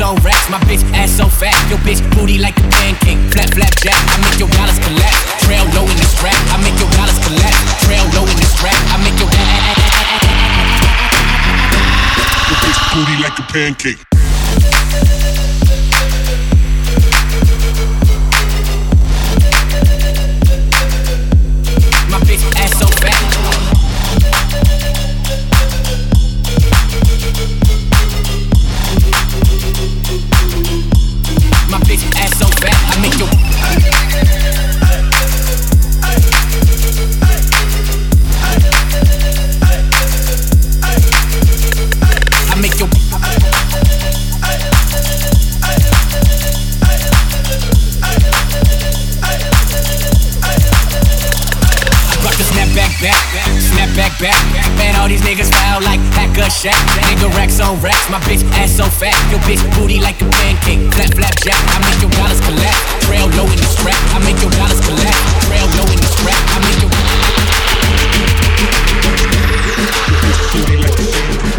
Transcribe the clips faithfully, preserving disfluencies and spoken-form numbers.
on racks. My bitch ass so fat, your bitch booty like a pancake. Flap, flap, jack, I make your dollars collapse. Trail low in the strap, I make your dollars collapse. Trail low in the strap, I make your your bitch booty like a pancake. My bitch ass so fat. My bitch ass so fat, I make your I make your Back, back, snap back, back. Man, all these niggas foul like Hacker Shack. Nigga racks on racks, my bitch ass so fat. Your bitch booty like a pancake. Flap, flap, jack, I make your dollars collapse. Trail low in the strap, I make your dollars collapse. Trail low in the strap, I make your booty like a pancake.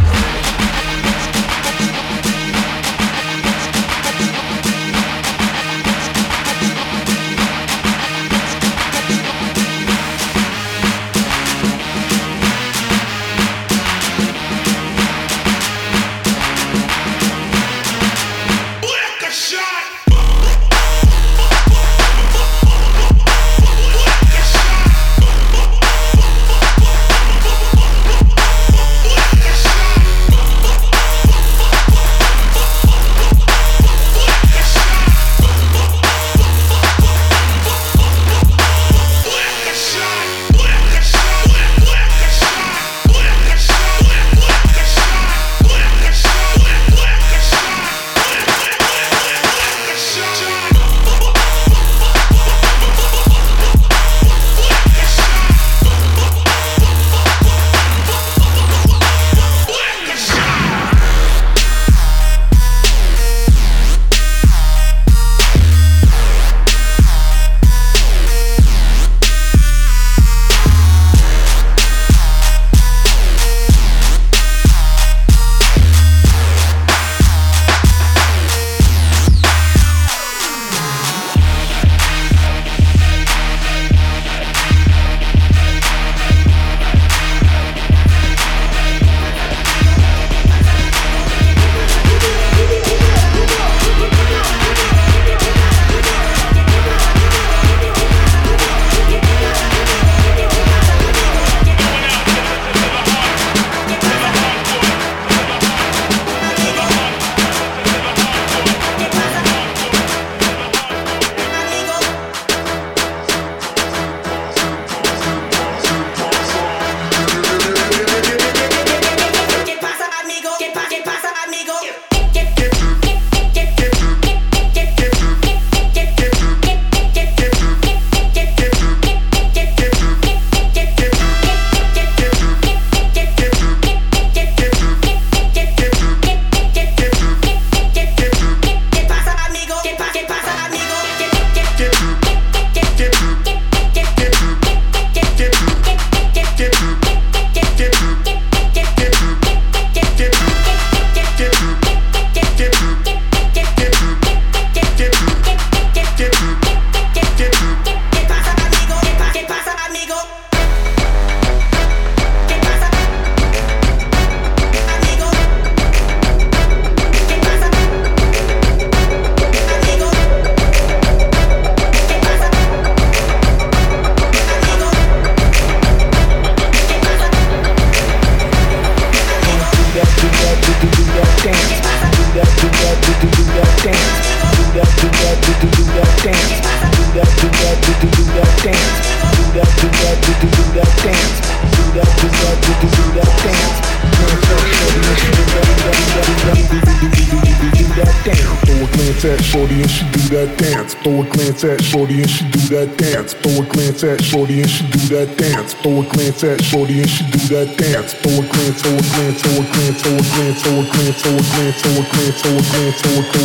at shorty and she do that dance. Throw a glance at shorty and she do that dance. Throw a glance at shorty and she do that dance. Throw a glance at shorty and she do that dance. Throw a glance, throw a glance, throw a glance, throw a glance, throw a glance, throw a glance, throw a glance, throw a glance, throw a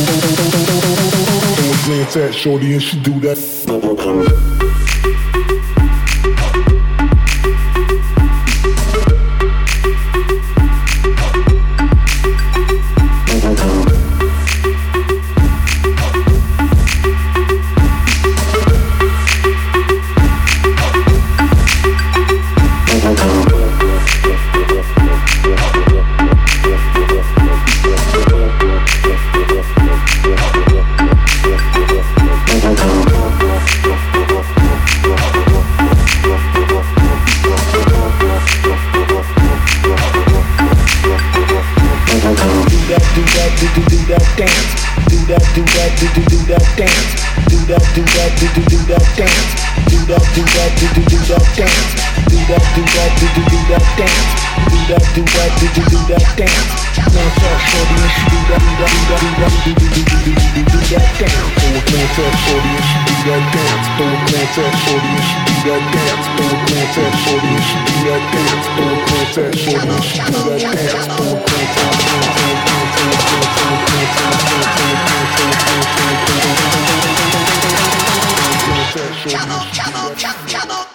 glance, throw a glance at shorty and she do that. do that, do do do that dance. Do that, do that, do do do that dance. Do that, do that, do do do that dance. Glance at shorty and she do that, do that, do that, do do do do do do do that dance. Throw a glance at shorty and she do that dance. Throw a glance at shorty and she do that dance. Throw a glance at shorty and she do that dance. Throw a glance at shorty and she do that dance. Throw a glance at Come on, come on, come on.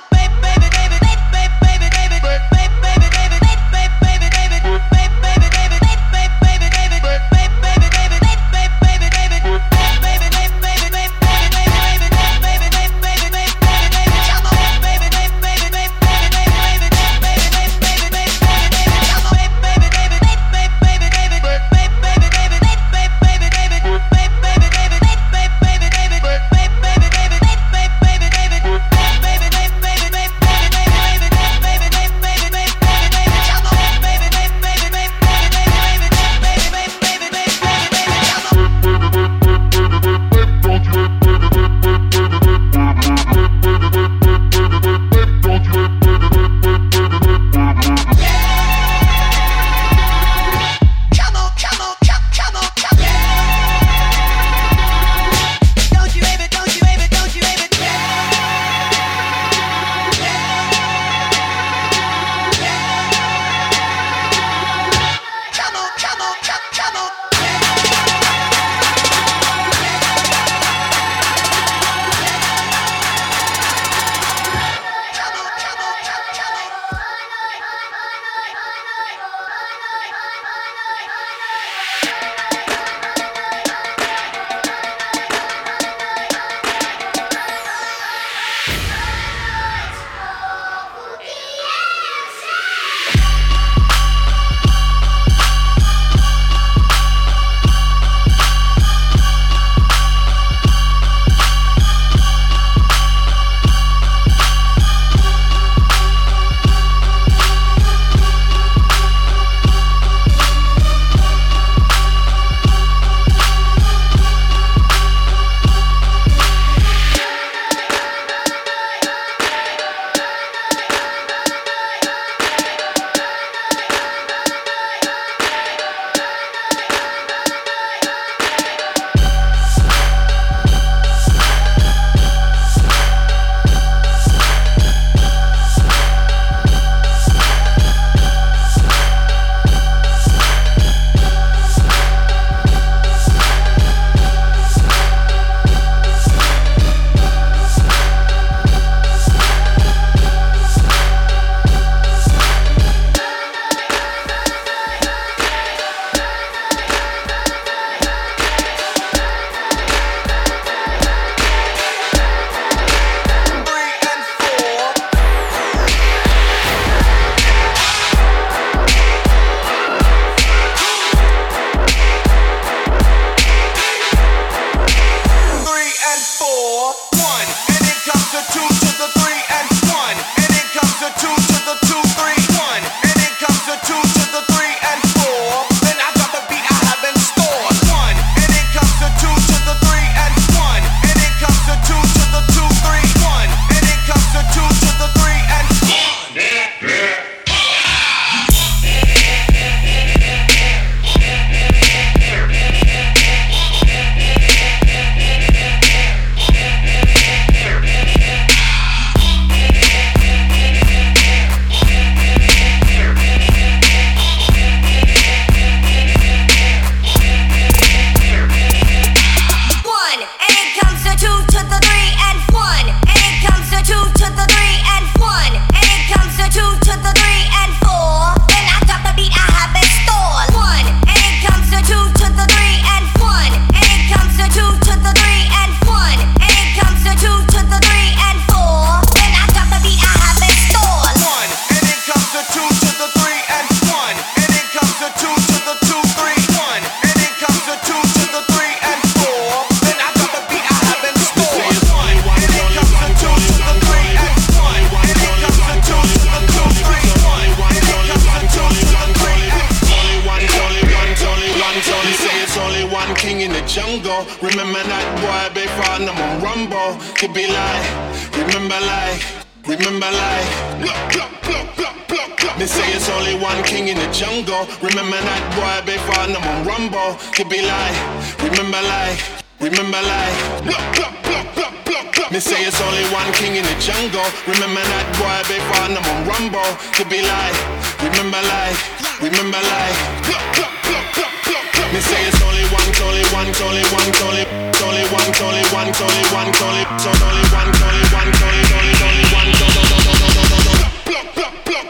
jungle. Remember that boy before find them on Rumble. Could be like, remember like, remember like, blah, blah, blah, blah, blah, blah. Me say it's only one king in the jungle. Remember that boy, they find them on Rumble. Could be like, remember like, remember like, blah, blah, blah, blah, blah, blah. Me say it's only one king in the jungle. Remember that boy, they find them on Rumble. Could be like, remember like, remember like, blah, blah, blah, blah, blah, blah. Me say it's only one, only one, only one, only, only one, only one, only one, only, so only one, only one, only, only, only one, blah, blah, blah, blah.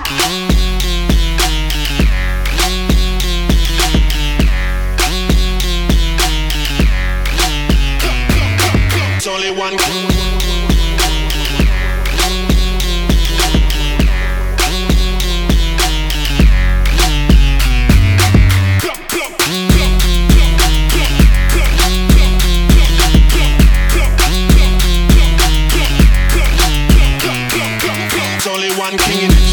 It's only one. It's only one king in the